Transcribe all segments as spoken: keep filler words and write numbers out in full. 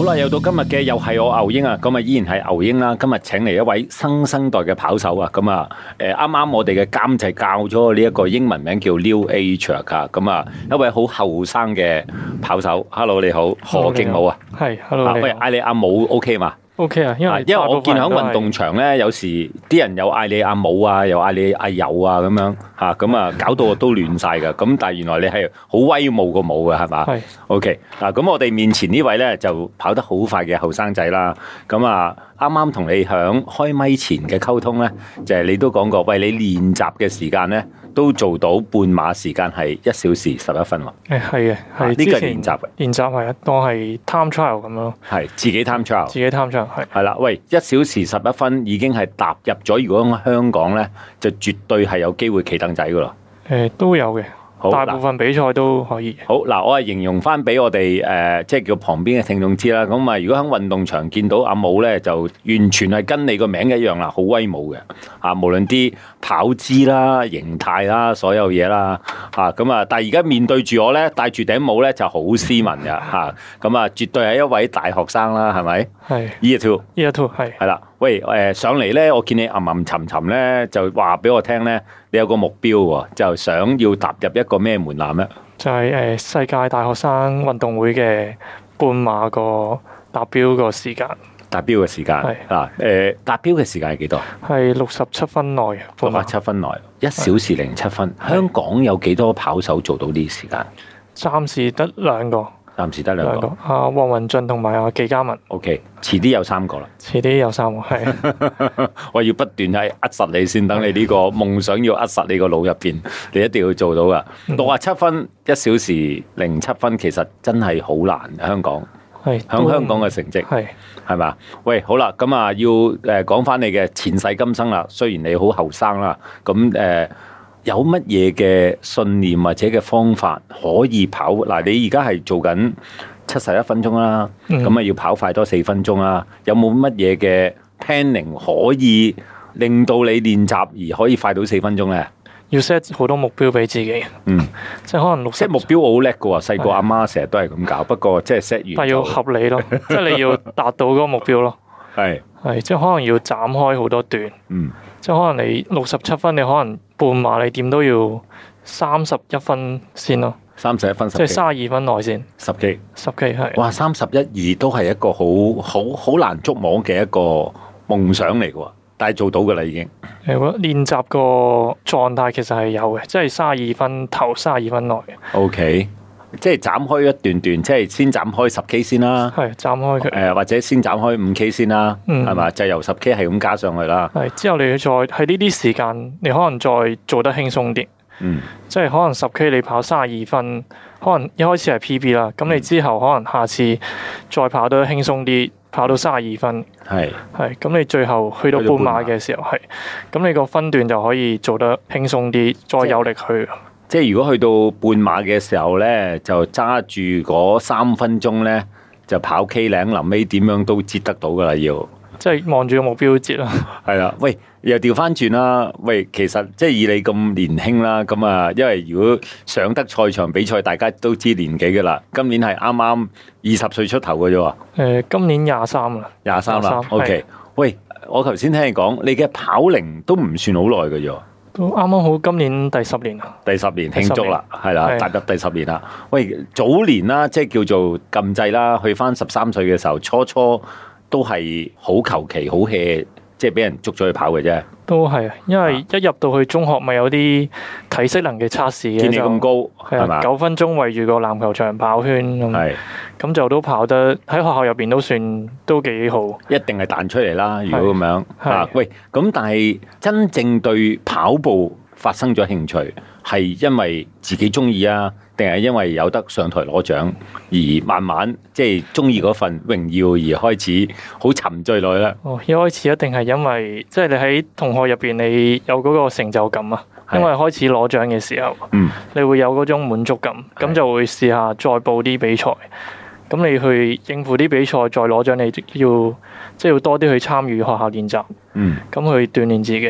啦，又到今日嘅又係我牛英啊，咁啊依然係牛英啦。今日請嚟一位新生代嘅跑手啊，咁啊誒啱啱我哋嘅監製教咗我呢一個英文名叫 New Age 噶，咁啊一位好後生嘅跑手。Hello 你好，何敬武啊， 係 Hello 你好。 喂嗌你阿武 OK 嘛？ OK 啊，因為因為我見喺運動場咧，有時啲人又嗌你阿武啊，又嗌你阿友啊咁樣嚇，咁啊搞到我都亂晒噶。咁但係原來你係好威武個武嘅係嘛？ 係 OK 嗱，咁我哋面前呢位咧就跑得好快嘅後生仔啦。咁啊啱啱同你響開咪前嘅溝通咧，就係、是、你都講過，喂你練習嘅時間咧都做到半馬時間係一小時十一分喎。 誒係嘅，係呢個係練習嘅， 練習係啊，當係 time trial 咁樣咯。 係自己 time trial， 自己 time trial 係。 係啦，喂，一小時十一分已經係踏入咗，如果喺香港咧，就絕對係有機會企凳仔噶咯。 誒都有嘅， 好大部分比賽都可以。 好嗱，我係形容翻俾我哋誒、呃，即係叫旁邊嘅聽眾知啦。咁啊，如果喺運動場見到阿武咧，就完全係跟你個名一樣啦，好威武嘅啊！無論啲跑姿啦、形態啦、所有嘢啦嚇咁啊，但係而家面對住我咧，戴住頂帽咧就好斯文嘅嚇，咁啊，絕對係一位大學生啦，係咪？ 係 Year two，Year two 係係啦。喂誒、呃，上嚟咧，我見你吟吟沉沉咧，就話俾我聽咧，你有個目標喎，就想要踏入一個咩門檻咧？ 就係、是、誒、呃、世界大學生運動會嘅半馬個達標個時間。 達標嘅時間係嗱誒，達標嘅時間係幾多？係六十七分內， 六十七分內，一小時零七分。香港有幾多跑手做到呢啲時間？ 暫時得兩個。 暫時得兩個， 阿黃文俊同埋阿紀嘉文。 O K，遲啲有三個啦。遲啲有三個，係。 我要不斷係扼實你先，等你呢個夢想要扼實你個腦入邊，你一定要做到噶。六十七分一小時零七分，其實真係好難。香港係響香港嘅成績係係嘛？喂，好啦，咁啊要誒講翻你嘅前世今生啦。雖然你好後生啦，咁誒。呃有乜嘢嘅信念或者嘅方法可以跑？嗱，你而家係做緊七十一分鐘啦，咁啊、嗯、要跑快多四分鐘啦。有冇乜嘢嘅 planning 可以令到你練習而可以快到四分鐘咧？ 要 set 好多目標俾自己，嗯，即係可能六 set 目標我好叻嘅喎，細個阿媽成日都係咁搞，不過即係 set 完， 但係要合理咯，即係你要達到嗰個目標咯， 係係，即係可能要斬開好多段，嗯，即係可能你六十七分，你可能半馬你點都要三十一分先咯， 三十一分， 即係三十二分內先， 十 K， 十 K 係， 哇，三十一二都係一個好好好難捉摸嘅一個夢想嚟嘅喎。但係做到噶啦，已經。 誒，我覺得練習個狀態其實係有嘅，即係三十二分頭，三十二分內嘅。 O K，即係斬開一段段，即係先斬開十 K 先啦。 係斬開佢。誒， 或者先斬開五 K 先啦。嗯。係嘛？就由十 K 係咁加上去啦。 係之後你再喺呢啲時間，你可能再做得輕鬆啲。嗯。即係可能十 K 你跑三十二分，可能一開始係 P B 啦，咁你之後可能下次再跑得輕鬆啲。跑到三十二分，係係咁，你最後去到半馬嘅時候，係咁，你個分段就可以做得輕鬆啲，再有力去。 即係如果去到半馬嘅時候咧，就揸住嗰三分鐘咧，就跑 K 零，臨尾點樣都接得到噶啦，要即係望住個目標接啦。係啦，喂，又調翻轉啦，喂，其實即係以你咁年輕啦，咁啊，因為如果上得賽場比賽，大家都知年紀噶啦，今年係啱啱二十歲出頭嘅啫喎。 誒，今年廿三啦， 廿三啦。O K，喂，我頭先聽你講，你嘅跑齡都唔算好耐嘅啫。 都啱啱好，今年第十年啦。 第十年慶祝啦，係啦，踏入第十年啦。喂，早年啦，即係叫做禁制啦，去翻十三歲嘅時候，初初。都係好求其好 hea， 即係俾人捉咗去跑嘅啫。 都係啊，因為一入到去中學咪有啲體適能嘅測試嘅， 見你咁高係嘛？ 九分鐘圍住個籃球場跑圈咁，咁就都跑得喺學校入邊都算都幾好。一定係彈出嚟啦！如果咁樣啊，喂，咁但係真正對跑步發生咗興趣，係因為自己中意啊，定係因為有得上台攞獎而慢慢即係中意嗰份榮耀而開始好沉醉落去咧？哦，一開始一定係因為即係、就是、你喺同學入邊你有嗰個成就感啊，因為開始攞獎嘅時候，嗯，你會有嗰種滿足感，咁就會試下再報啲比賽。咁你去應付啲比賽再攞獎，你要即係、就是、要多啲去參與學校練習，嗯，咁去鍛鍊自己。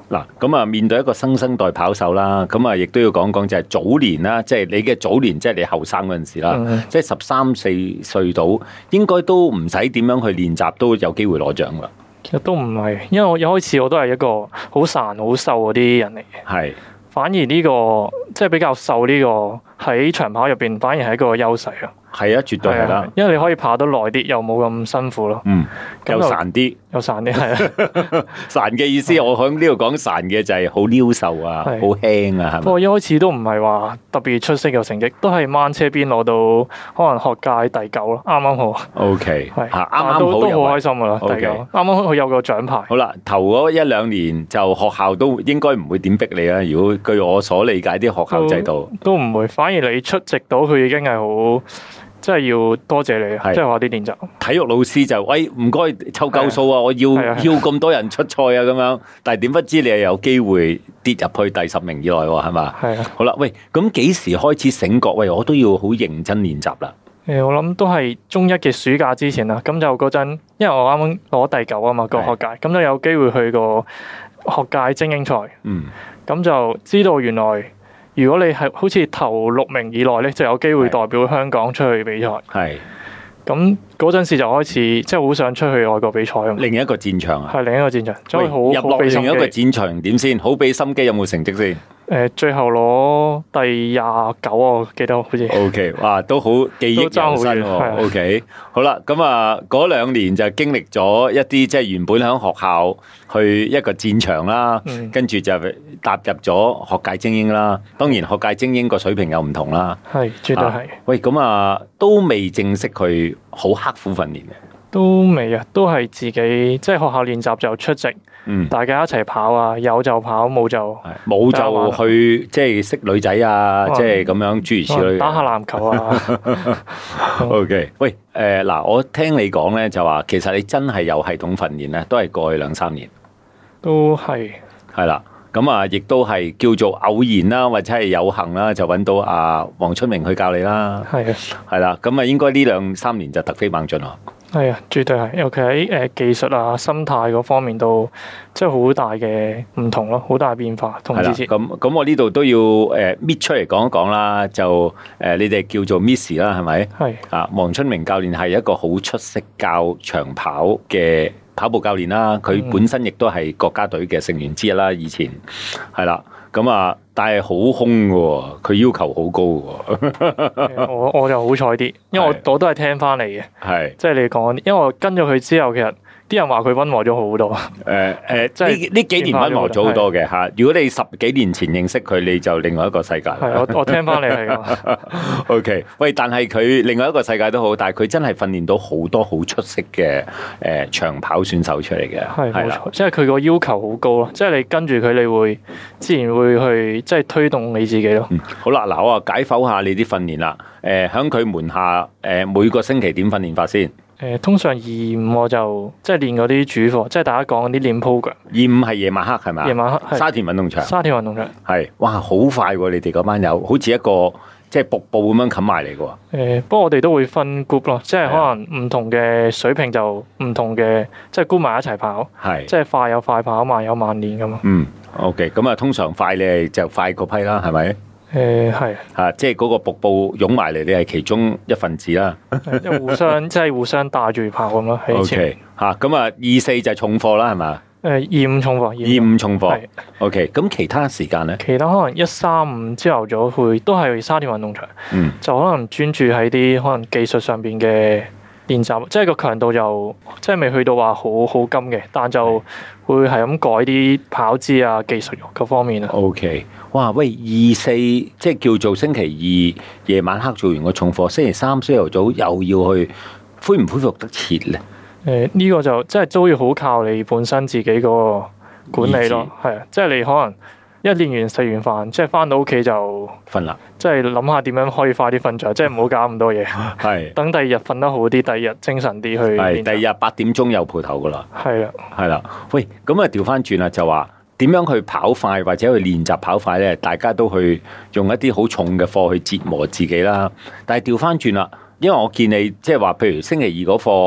嗱，咁啊面對一個新生代跑手啦，咁啊亦都要講講就係早年啦，即係你嘅早年，即係你後生嗰陣時啦，嗯、即係十三四歲到，應該都唔使點樣去練習，都有機會攞獎噶。 其實都唔係，因為我一開始我都係一個好孱好瘦嗰啲人嚟嘅。係。反而呢個即係比較瘦呢個喺長跑入邊，反而係一個優勢啊！係啊，絕對係啦，因為你可以跑得耐啲，又冇咁辛苦咯。嗯，又孱啲，又孱啲，係啊！孱嘅意思，我喺呢度講孱嘅就係好溜瘦啊，好輕啊，係咪？不過一開始都唔係話特別出色嘅成績，都係掹車邊攞到可能學界第九咯，啱啱好。O K， 係啱啱好，都好開心噶啦，第九，啱啱好佢有個獎牌。好啦，頭嗰一兩年就學校都應該唔會點逼你啊。如果據我所理解啲學校制度，都唔會，反而你出席到佢已經係好。真係要多謝你，即係話啲練習。體育老師就喂唔該湊夠數啊，我要要咁多人出賽啊咁樣。但係點不知你係有機會跌入去第十名以內喎，係嘛？係啊。好啦，喂，咁幾時開始醒覺？喂，我都要好認真練習啦。誒，我諗都係中一嘅暑假之前啦。咁就嗰陣，因為我啱啱攞第九啊嘛，個學界，咁就有機會去個學界精英賽。嗯。咁就知道原來。如果你係好似頭六名以內咧，就有機會代表香港出去比賽。係，咁嗰陣時就開始即係好想出去外國比賽咁。另一個戰場啊，係另一個戰場，所以好入落另一個戰場點先？好俾心機，有冇成績先？誒，最後攞第廿九，我記得好似。O K， 哇，都好記憶猶新喎。O K， 好啦，咁啊，嗰兩年就經歷咗一啲即係原本喺學校去一個戰場啦，嗯、跟住就踏入咗學界精英啦。當然學界精英個水平又唔同啦。係，絕對係、啊。喂，咁啊，都未正式去好刻苦訓練嘅。都未啊，都係自己即係學校練習就出席。嗯，大家一齊跑啊，有就跑，冇就冇就去即係識女仔啊，即係咁樣諸如此類，打下籃球啊。O K， 喂，誒嗱，我聽你講咧就話，其實你真係有系統訓練咧，都係過去兩三年，都係係啦。咁啊，亦都係叫做偶然啦，或者係有幸啦，就揾到阿黃春明去教你啦。係啊，係啦。咁啊，應該呢兩三年就突飛猛進咯。係啊，絕對係，尤其喺誒技術啊、心態嗰方面都即係好大嘅唔同咯，好大變化同之前。咁咁，我呢度都要誒搣出嚟講一講啦。就誒，你哋叫做 Miss 啦，係咪？係啊，黃春明教練係一個好出色教長跑嘅跑步教練啦。佢本身亦都係國家隊嘅成員之一啦。以前係啦。咁啊，但係好兇嘅，佢要求好高嘅。我我就好彩啲，因為我我都係聽翻嚟嘅。係，即係你講，因為我跟咗佢之後，其實啲人話佢溫和咗好多。誒誒，即係呢呢幾年溫和咗好多嘅吓。如果你十幾年前認識佢，你就另外一個世界。係，我我聽翻嚟係咁。O K， 喂，但係佢另外一個世界都好，但係佢真係訓練到好多好出色嘅誒長跑選手出嚟嘅。係，冇錯，即係佢個要求好高咯。即係你跟住佢，你會自然會去即係推動你自己咯。嗯，好啦，嗱，我啊解剖下你啲訓練啦。誒，喺佢門下誒，每個星期點訓練法先？誒，通常二五我就即係練嗰啲主課，即係大家講嗰啲練 program。二五係夜晚黑係咪？夜晚黑，沙田運動場。沙田運動場係，哇，好快喎！你哋嗰班友，好似一個即係瀑布咁樣冚埋嚟嘅喎。誒，不過我哋都會分 group 咯，即係可能唔同嘅水平就唔同嘅，即係 group 埋一齊跑。係，即係快有快跑，慢有慢練咁嘛。嗯 ，OK，咁啊，通常快你係就快嗰批啦，係咪？誒，係吓，即係嗰個瀑布湧埋嚟，你係其中一份子啦。即係互相，即係互相帶住跑咁咯。O K，吓，咁啊，二四就重課啦，係嘛？誒，二五重課，二五重課。O K，咁其他時間咧？其他可能一三五朝頭早會都係沙田運動場，嗯，就可能專注喺啲可能技術上邊嘅練習，即係個強度就即係未去到話好好金嘅，但就會係咁改啲跑姿啊、技術嗰方面啊。O K。哇！喂，二四即係叫做星期二夜晚黑做完個重課，星期三朝頭早又要去，恢唔恢復得切咧？誒、呃，呢、這個就即係都要好靠你本身自己個管理咯。係啊，即係你可能一練完食完飯，即係翻到屋企就瞓啦。即係諗下點樣可以快啲瞓着，即係唔好搞咁多嘢。係。等第二日瞓得好啲，第二日精神啲去。係。第二日八點鐘又蒲頭噶啦。係啦。係啦。喂，咁啊調翻轉啦，就話。點樣去跑快或者去練習跑快咧？大家都去用一啲好重嘅課去折磨自己啦。但係調翻轉啦，因為我見你即係話，譬如星期二嗰課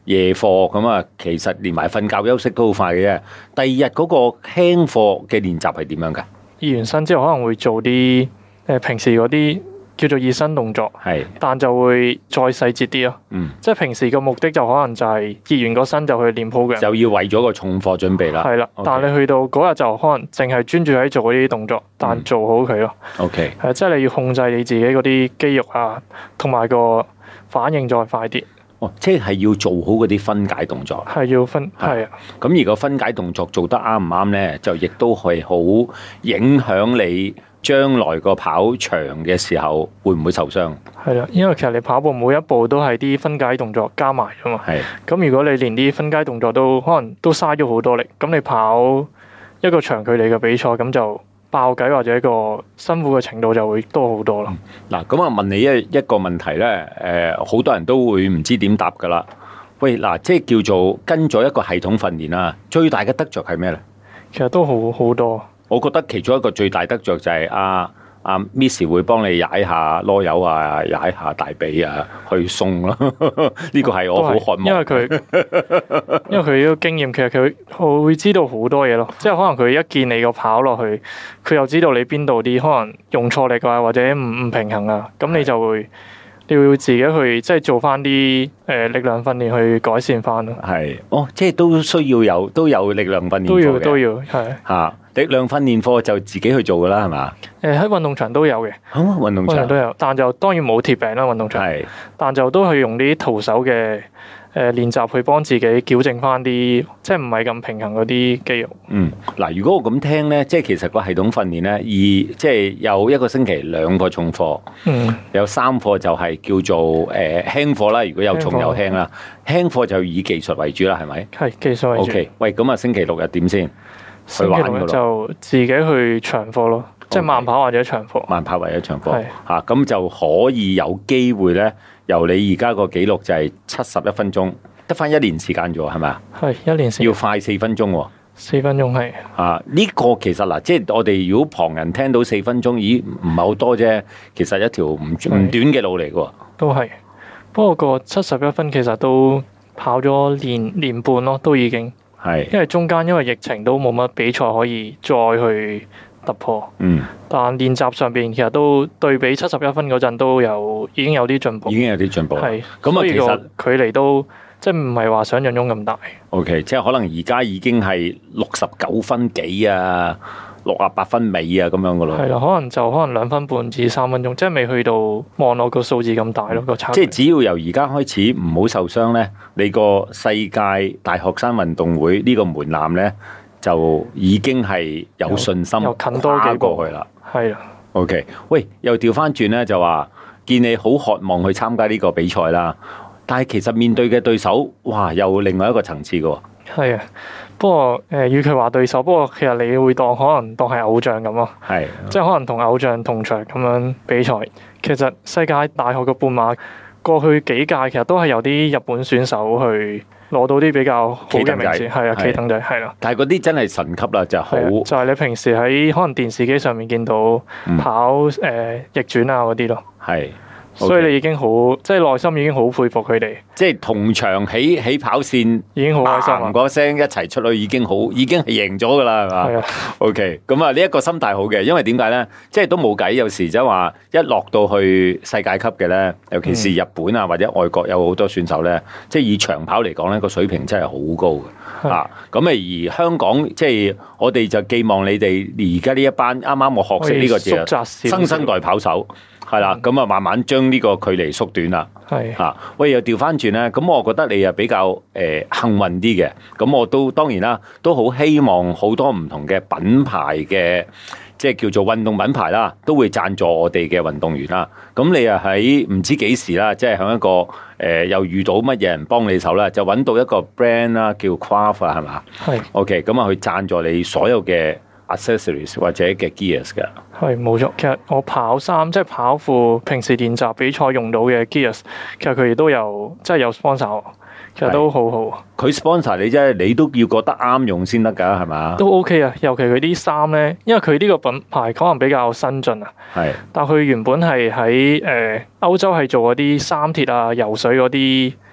夜課咁啊，其實連埋瞓覺休息都好快嘅啫。第二日嗰個輕課嘅練習係點樣㗎？ 熱完身之後可能會做啲誒平時嗰啲叫做熱身動作， 係， 但就會再細節啲咯。 嗯， 即係平時嘅目的就可能就係熱完個身就去練 program， 就要為咗個重課準備啦。 係啦， Okay 但係你去到嗰日就可能淨係專注喺做嗰啲動作，但做好佢咯。 OK， 係即係你要控制你自己嗰啲肌肉啊，同埋個反應再快啲。 哦，即係要做好嗰啲分解動作。 係要分係啊。 咁而個分解動作做得啱唔啱咧，就亦都係好影響你將來個跑長嘅時候會唔會受傷？ 係啦，因為其實你跑步每一步都係啲分解動作加埋㗎嘛。 係。 咁如果你連啲分解動作都可能都嘥咗好多力，咁你跑一個長距離嘅比賽，咁就爆計或者一個辛苦嘅程度就會多好多咯。 嗱、嗯，咁啊問你一一個問題咧，誒、呃、好多人都會唔知點答噶啦。喂，嗱，即係叫做跟咗一個系統訓練啦，最大嘅得着係咩咧？ 其實都好好多。 我覺得其中一個最大得着就係阿阿 Miss 會幫你踩下囉柚啊，踩下大髀啊，去送咯。呢個係我好渴望。 因為佢因為佢呢個經驗，其實佢佢會知道好多嘢咯。即係可能佢一見你個跑落去，佢又知道你邊度啲可能用錯力啊，或者唔唔平衡啊，咁你就會。你要自己去即係做翻啲誒力量訓練去改善翻咯。係， 哦，即係都需要有都有力量訓練課嘅。 都要都要係。 嚇，力量訓練課就自己去做噶啦，係嘛？ 誒喺運動場都有嘅。嚇，運動場都有，但就當然冇鐵餅啦，運動場。係。但就都係用啲徒手嘅誒練習去幫自己矯正翻啲即係唔係咁平衡嗰啲肌肉。嗯， 嗱，如果我咁聽咧，即係其實個系統訓練咧，而即係有一個星期兩個重課，嗯，有三課就係叫做誒輕課啦。如果有重有輕啦，輕課就以技術為主啦，係咪？ 係技術為主。 OK，喂，咁啊星期六日點先？去玩㗎咯。 就自己去長課咯，即係慢跑或者長課。 慢跑或者長課，係嚇，咁就可以有機會咧。由你而家個記錄就係七十一分鐘，得翻一年時間啫喎，係咪啊？ 係一年時間。 要快四分鐘喎。 四分鐘係。啊， 呢、這個其實嗱，即係我哋如果旁人聽到四分鐘，咦，唔係好多啫。其實一條唔唔短嘅路嚟嘅喎。 都係，不過個七十一分其實都跑咗年年半咯，都已經。係。因為中間因為疫情都冇乜比賽可以再去突破，嗯，但練習上邊其實都對比七十一分嗰陣都有已經有啲進步， 已經有啲進步，係咁啊，其實距離都即係唔係話想象中咁大。 OK， 即係可能而家已經係六十九分幾啊，六啊八分尾啊咁樣噶咯。 係啦，可能就可能兩分半至三分鐘，即係未去到望落個數字咁大咯個差。 即係只要由而家開始唔好受傷咧，你個世界大學生運動會呢個門檻咧，就已經係有信心又近多幾過去啦。 係啊 ，OK，喂，又調翻轉咧，就話見你好渴望去參加呢個比賽啦，但係其實面對嘅對手，哇，又另外一個層次嘅喎。 係啊，不過誒，與其話對手，不過其實你會當可能當係偶像咁咯。係，即係可能同偶像同場咁樣比賽。其實世界大學嘅半馬過去幾屆其實都係有啲日本選手去攞到啲比較好嘅名次，係啊，企等仔係啦。 但係嗰啲真係神級啦，就好。 就係你平時喺可能電視機上面見到跑誒、嗯呃、逆轉啊嗰啲咯。係。Okay. 所以你已經好，即係內心已經好佩服佢哋。 即係同場起起跑線， 已經好開心啊！ 嗰聲一齊出去已經好，已經係贏咗噶啦，係嘛？係啊。OK，咁啊呢一個心態好嘅，因為點解咧？即係都冇計，有時即係話一落到去世界級嘅咧，尤其是日本啊或者外國有好多選手咧，嗯、即係以長跑嚟講咧個水平真係好高嘅啊！咁啊而香港即係我哋就寄望你哋而家呢一班啱啱我學識呢個字，新生代跑手。係啦，咁啊，慢慢將呢個距離縮短啦。係嚇，喂，又調翻轉咧，咁我覺得你又比較誒、呃、幸運啲嘅。咁我都當然啦，都好希望好多唔同嘅品牌嘅，即係叫做運動品牌啦，都會贊助我哋嘅運動員啦。咁你又喺唔知幾時啦，即係喺一個誒、呃、又遇到乜嘢人幫你手啦，就揾到一個 brand 啦，叫 Craft 啊，係嘛？係。OK，咁啊，去贊助你所有嘅 accessories 或者嘅 gears 㗎。係冇錯，其實我跑衫即係跑褲，平時練習比賽用到嘅 gears，其實佢哋都有即係有 sponsor，其實都好好。佢 sponsor 你啫，你都要覺得啱用先得㗎，係嘛？都 OK 啊，尤其佢啲衫咧，因為佢呢個品牌可能比較新進啊。係，但佢原本係喺誒歐洲係做嗰啲衫鐵啊、游水嗰啲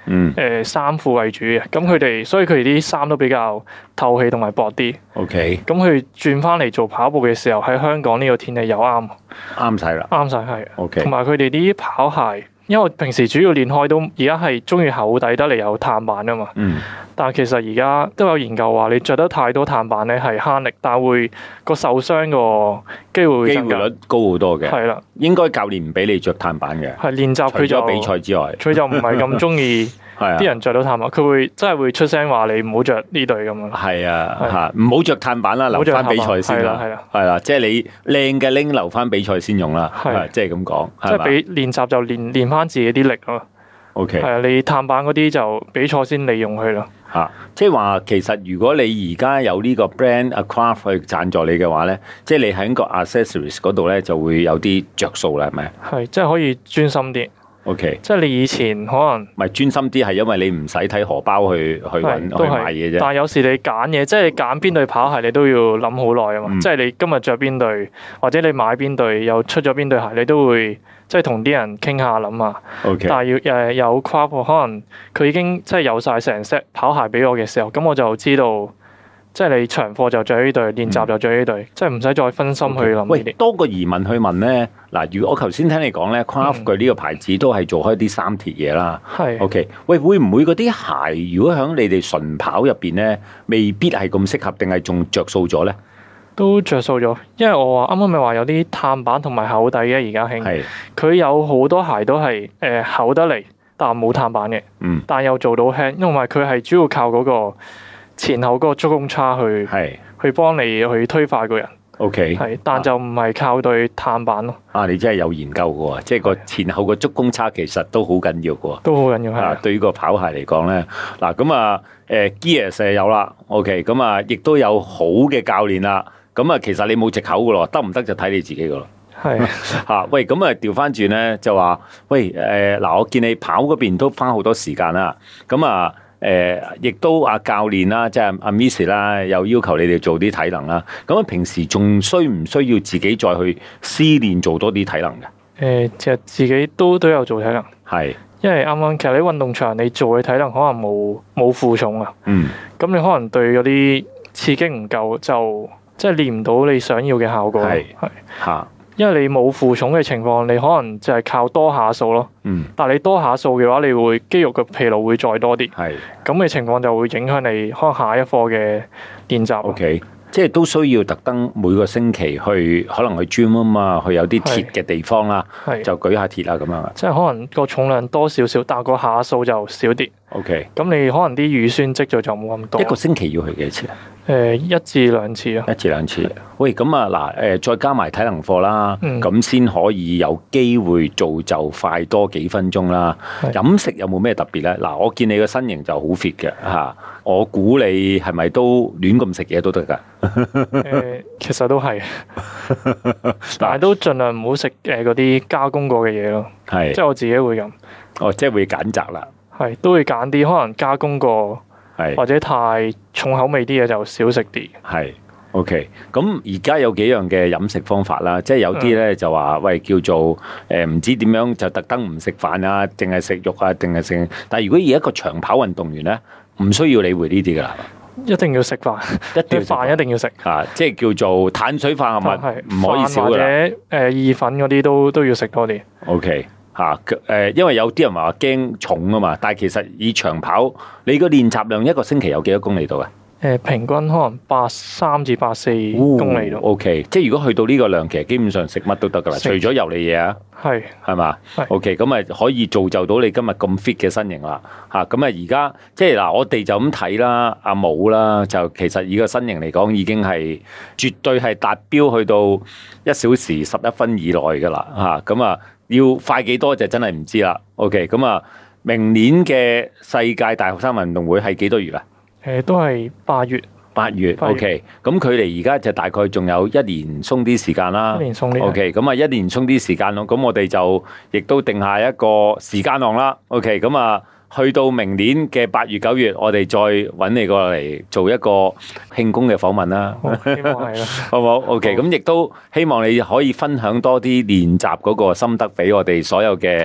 嗯呃、衫褲為主嘅。咁佢哋所以佢哋啲衫都比較透氣同埋薄啲。 OK。 咁佢轉翻嚟做跑步嘅時候，喺香港呢個天氣又啱， 啱晒啦， 啱晒係。 OK。 同埋佢哋啲跑鞋。因為我平時主要練開都而家係中意厚底得嚟有碳板啊嘛， 嗯， 但係其實而家都有研究話你着得太多碳板咧係慳力，但係會個受傷個機會會機會率高好多嘅， 係啦， 應該教練唔俾你着碳板嘅， 係練習佢就除咗比賽之外， 佢就唔係咁中意啲人着到碳板，佢會真係會出聲話你唔好着呢對咁樣。 係啊，嚇唔好着碳板啦，留翻比賽先啦，係啦，係啦，即係你靚嘅拎留翻比賽先用啦，係即係咁講， 即係俾練習就練練翻自己啲力咯。 OK， 係啊，你碳板嗰啲就比賽先利用佢咯。 嚇，即係話其實如果你而家有呢個 brand Acraft 去贊助你嘅話咧，即係你喺個 accessories 嗰度咧就會有啲着數啦，係咪？ 係，即係可以專心啲。 OK， 即係你以前可能唔係專心啲，係因為你唔使睇荷包去去揾去買嘢啫。 但係有時你揀嘢，即係你揀邊對跑鞋，你都要諗好耐啊嘛。嗯、即係你今日着邊對，或者你買邊對，又出咗邊對鞋，你都會即係同啲人傾下諗下。 OK， 但係要誒有 Craft，可能佢已經即係有晒成 set 跑鞋俾我嘅時候，咁我就知道。即係你長課就着呢對，練習就着呢對，嗯、即係唔使再分心去諗呢啲。 喂，多個疑問去問咧。嗱，如果我頭先聽你講咧 Craft 佢呢個牌子都係做開啲三鐵嘢啦。係、嗯。OK，喂，會唔會嗰啲鞋如果喺你哋純跑入邊咧，未必係咁適合，定係仲着數咗咧？ 都着數咗，因為我話啱啱咪話有啲碳板同埋厚底嘅，而家興。係。佢有好多鞋都係誒、呃、厚得嚟，但冇碳板嘅。嗯。但又做到輕，因為佢係主要靠嗰、嗰個。前後嗰個足弓叉去係去幫你去推快個人 ，OK， 係，但就唔係靠對碳板咯。 啊，你真係有研究嘅喎，即係個前後個足弓叉其實都好緊要嘅喎， 都好緊要係。 啊，對於個跑鞋嚟講咧，嗱咁啊，誒 Gear 有啦 ，OK，咁啊，亦都有好嘅教練啦，咁啊，其實你冇藉口嘅咯，得唔得就睇你自己嘅咯。係嚇，喂，咁啊調翻轉咧就話，喂，誒嗱，我見你跑嗰邊都花好多時間啦，咁啊。誒，亦、呃、都阿教練啦，即係阿 Miss 啦，又要求你哋做啲體能啦。咁啊，平時仲需唔需要自己再去私練做多啲體能嘅？誒、 呃，其實自己都都有做體能，係是，因為啱啱其實你運動場你做嘅體能可能冇冇負重啊。嗯。咁你可能對嗰啲刺激唔夠，就即係練唔到你想要嘅效果。係係嚇。因為你冇負重嘅情況，你可能就係靠多下數咯。嗯。但係你多下數嘅話，你會肌肉嘅疲勞會再多啲。係。咁嘅情況就會影響你可能下一課嘅練習。O K， 即係都需要特登每個星期去，可能去 gym 啊嘛，去有啲鐵嘅地方啦，就舉下鐵啊咁樣。 即係可能個重量多少少，但係個下數就少啲。 O K。咁你可能啲乳酸積聚就冇咁多。 一個星期要去幾多次啊？ 誒，一至兩次啊， 一至兩次。喂，咁啊嗱，誒，再加埋體能課啦，咁先、嗯、可以有機會造就快多幾分鐘啦。的飲食有冇咩特別咧？嗱，我見你個身形就好 fit 嘅吓，我估你係咪都亂咁食嘢都得噶？ 誒，其實都係，但係都盡量唔好食誒嗰啲加工過嘅嘢咯。係的，即係我自己會咁。 哦，即係會揀擇啦。 係，都會揀啲可能加工過。係或者太重口味啲嘢就少食啲。係 ，OK。咁而家有幾樣嘅飲食方法啦，即係有啲咧就話喂叫做誒唔知點樣就特登唔食飯啊，淨係食肉啊，定係食。但係如果以一個長跑運動員咧，唔需要理會呢啲噶啦， 一定要食飯，一定飯一定要食啊，即係叫做碳水化合物唔可以少噶啦。 或者誒意粉嗰啲都都要食多啲。 OK。吓，誒，因為有啲人話驚重啊嘛，但係其實以長跑，你個練習量一個星期有幾多公里度啊？ 誒，平均可能八三至八四公里度。 O K，即係如果去到呢個量，其實基本上食乜都得噶啦，除咗油膩嘢啊。係係嘛？O K，咁啊可以造就到你今日咁 fit 嘅身形啦。吓，咁啊而家即係嗱，我哋就咁睇啦，阿武啦，就其實以個身形嚟講，已經係絕對係達標去到一小時十一分以內噶啦。吓，咁啊。要快幾多就真係唔知啦。OK，咁啊，明年嘅世界大學生運動會係幾多月啊？ 誒，都係八月。 八月。OK，咁距離而家就大概仲有一年鬆啲時間啦。 一年鬆啲。 OK，咁啊，一年鬆啲時間咯。咁我哋就亦都定下一個時間浪啦。OK，咁啊。去到明年嘅八月九月，我哋再揾你過嚟做一個慶功嘅訪問啦。 希望係啦， 好唔好 ？OK，咁亦都希望你可以分享多啲練習嗰個心得俾我哋所有嘅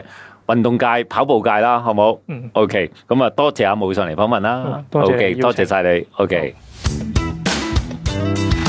運動界、跑步界啦，好冇？ 嗯 ，OK，咁啊，多謝阿武上嚟訪問啦。 嗯多謝 OK， 邀請多謝晒你。OK。